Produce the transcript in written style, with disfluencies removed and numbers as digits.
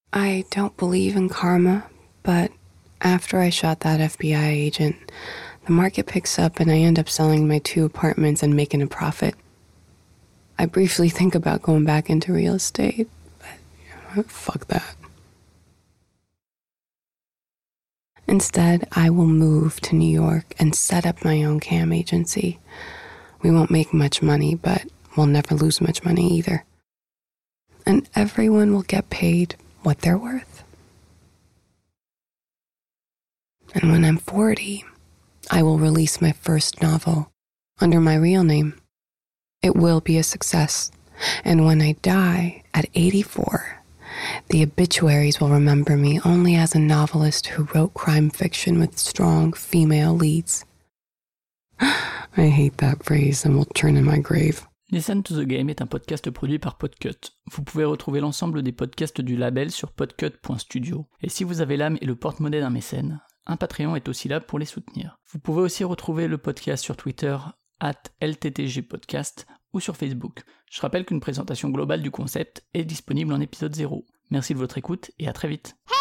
I don't believe in karma, but after I shot that FBI agent, the market picks up and I end up selling my 2 apartments and making a profit. I briefly think about going back into real estate, but fuck that. Instead, I will move to New York and set up my own cam agency. We won't make much money, but we'll never lose much money either. And everyone will get paid what they're worth. And when I'm 40, I will release my first novel under my real name. It will be a success. And when I die at 84, the obituaries will remember me only as a novelist who wrote crime fiction with strong female leads. I hate that phrase and will turn in my grave. Listen to the Game est un podcast produit par Podcut. Vous pouvez retrouver l'ensemble des podcasts du label sur podcut.studio. Et si vous avez l'âme et le porte-monnaie d'un mécène, un Patreon est aussi là pour les soutenir. Vous pouvez aussi retrouver le podcast sur Twitter @LTTGpodcast ou sur Facebook. Je rappelle qu'une présentation globale du concept est disponible en épisode 0. Merci de votre écoute et à très vite.